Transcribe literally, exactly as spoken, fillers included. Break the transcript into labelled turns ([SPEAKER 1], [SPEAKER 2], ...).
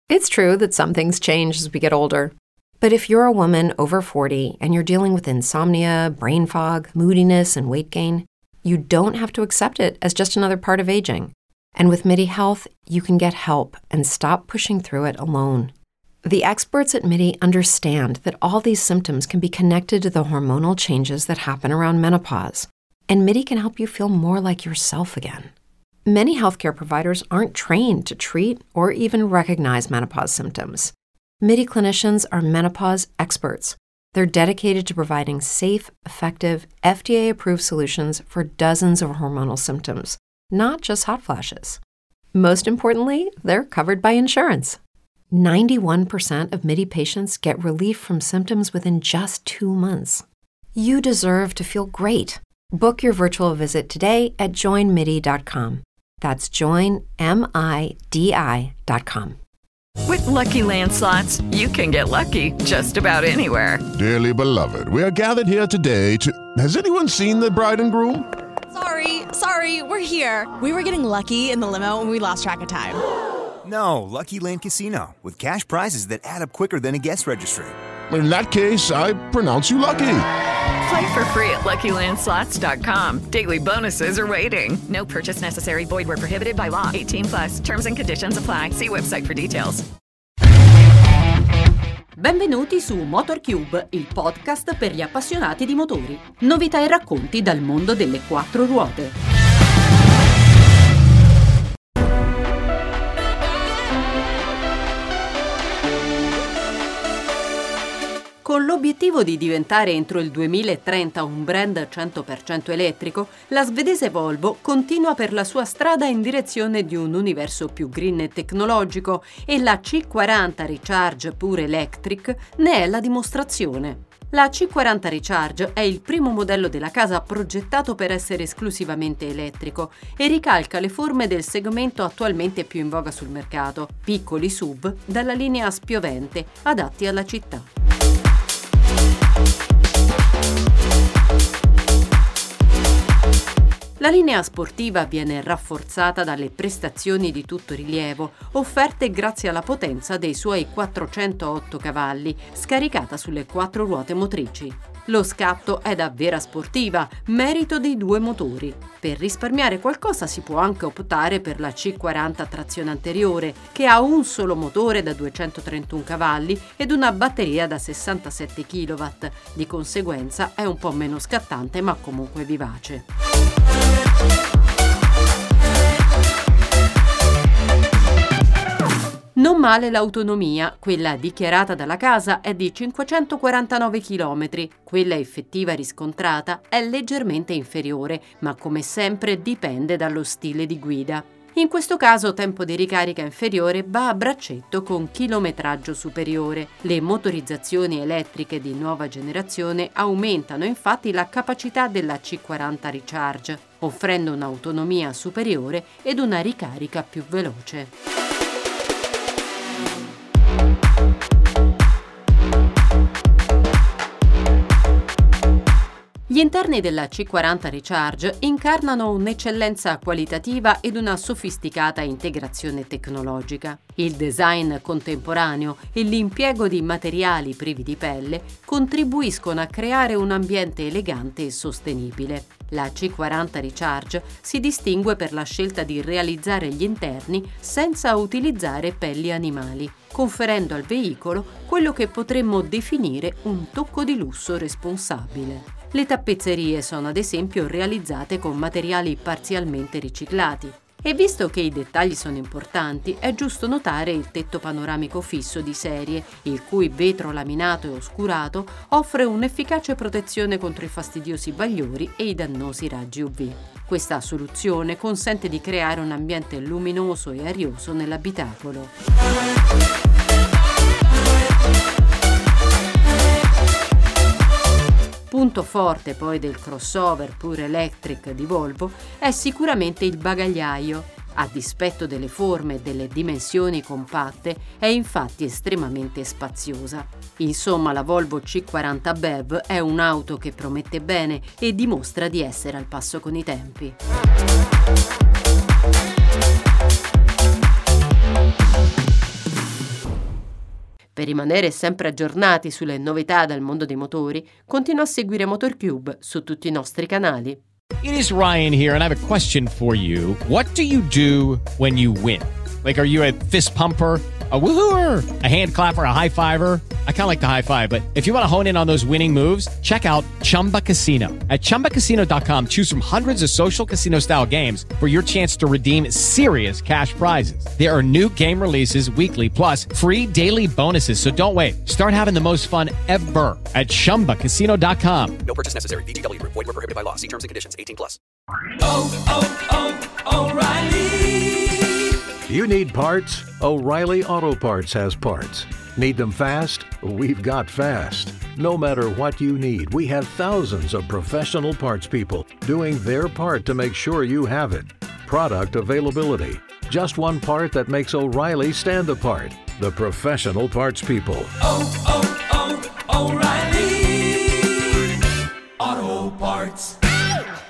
[SPEAKER 1] It's true that some things change as we get older. But if you're a woman over forty and you're dealing with insomnia, brain fog, moodiness, and weight gain, you don't have to accept it as just another part of aging. And with MIDI Health, you can get help and stop pushing through it alone. The experts at MIDI understand that all these symptoms can be connected to the hormonal changes that happen around menopause, and MIDI can help you feel more like yourself again. Many healthcare providers aren't trained to treat or even recognize menopause symptoms. MIDI clinicians are menopause experts. They're dedicated to providing safe, effective, F D A-approved solutions for dozens of hormonal symptoms, not just hot flashes. Most importantly, they're covered by insurance. ninety-one percent of MIDI patients get relief from symptoms within just two months. You deserve to feel great. Book your virtual visit today at join midi dot com. That's join midi dot com.
[SPEAKER 2] With Lucky Land Slots, you can get lucky just about anywhere.
[SPEAKER 3] Dearly beloved, we are gathered here today to... Has anyone seen the bride and groom?
[SPEAKER 4] Sorry, sorry, we're here. We were getting lucky in the limo and we lost track of time.
[SPEAKER 5] No, Lucky Land Casino, with cash prizes that add up quicker than a guest registry.
[SPEAKER 3] In that case, I pronounce you lucky.
[SPEAKER 2] Play for free at lucky land slots dot com. Daily bonuses are waiting. No purchase necessary. Void where prohibited by law. eighteen plus. Terms and conditions apply. See website for details.
[SPEAKER 6] Benvenuti su MotorCube, il podcast per gli appassionati di motori. Novità e racconti dal mondo delle quattro ruote. Con l'obiettivo di diventare entro il duemilatrenta un brand cento per cento elettrico, la svedese Volvo continua per la sua strada in direzione di un universo più green e tecnologico e la C quaranta Recharge Pure Electric ne è la dimostrazione. La C quaranta Recharge è il primo modello della casa progettato per essere esclusivamente elettrico e ricalca le forme del segmento attualmente più in voga sul mercato, piccoli S U V dalla linea spiovente, adatti alla città. La linea sportiva viene rafforzata dalle prestazioni di tutto rilievo, offerte grazie alla potenza dei suoi quattrocentootto cavalli, scaricata sulle quattro ruote motrici. Lo scatto è da vera sportiva, merito dei due motori. Per risparmiare qualcosa si può anche optare per la C quaranta a trazione anteriore, che ha un solo motore da duecentotrentuno cavalli ed una batteria da sessantasette chilowatt. Di conseguenza è un po' meno scattante ma comunque vivace. Non male l'autonomia, quella dichiarata dalla casa è di cinquecentoquarantanove chilometri, quella effettiva riscontrata è leggermente inferiore, ma come sempre dipende dallo stile di guida. In questo caso tempo di ricarica inferiore va a braccetto con chilometraggio superiore. Le motorizzazioni elettriche di nuova generazione aumentano infatti la capacità della C quaranta Recharge, offrendo un'autonomia superiore ed una ricarica più veloce. Gli interni della C quaranta Recharge incarnano un'eccellenza qualitativa ed una sofisticata integrazione tecnologica. Il design contemporaneo e l'impiego di materiali privi di pelle contribuiscono a creare un ambiente elegante e sostenibile. La C quaranta Recharge si distingue per la scelta di realizzare gli interni senza utilizzare pelli animali, conferendo al veicolo quello che potremmo definire un tocco di lusso responsabile. Le tappezzerie sono ad esempio realizzate con materiali parzialmente riciclati. E visto che i dettagli sono importanti, è giusto notare il tetto panoramico fisso di serie, il cui vetro laminato e oscurato offre un'efficace protezione contro i fastidiosi bagliori e i dannosi raggi U V. Questa soluzione consente di creare un ambiente luminoso e arioso nell'abitacolo. Punto forte poi del crossover Pure Electric di Volvo è sicuramente il bagagliaio. A dispetto delle forme e delle dimensioni compatte, è infatti estremamente spaziosa. Insomma, la Volvo C quaranta B E V è un'auto che promette bene e dimostra di essere al passo con i tempi. Per rimanere sempre aggiornati sulle novità del mondo dei motori, continua a seguire MotorCube su tutti i nostri canali.
[SPEAKER 7] It is Ryan here, and I have a question for you. What do you do when you win? Like, are you a fist pumper, a woohooer, a hand clapper, a high fiver? I kind of like the high five, but if you want to hone in on those winning moves, check out Chumba Casino. At chumba casino dot com, choose from hundreds of social casino style games for your chance to redeem serious cash prizes. There are new game releases weekly, plus free daily bonuses. So don't wait. Start having the most fun ever at chumba casino dot com.
[SPEAKER 8] No purchase necessary. V G W Group. Void where prohibited by law. See terms and conditions. eighteen plus.
[SPEAKER 9] Oh, oh, oh, O'Reilly.
[SPEAKER 10] You need parts? O'Reilly Auto Parts has parts. Need them fast? We've got fast. No matter what you need, we have thousands of professional parts people doing their part to make sure you have it. Product availability. Just one part that makes O'Reilly stand apart. The professional parts people.
[SPEAKER 9] Oh, oh, oh, O'Reilly Auto Parts.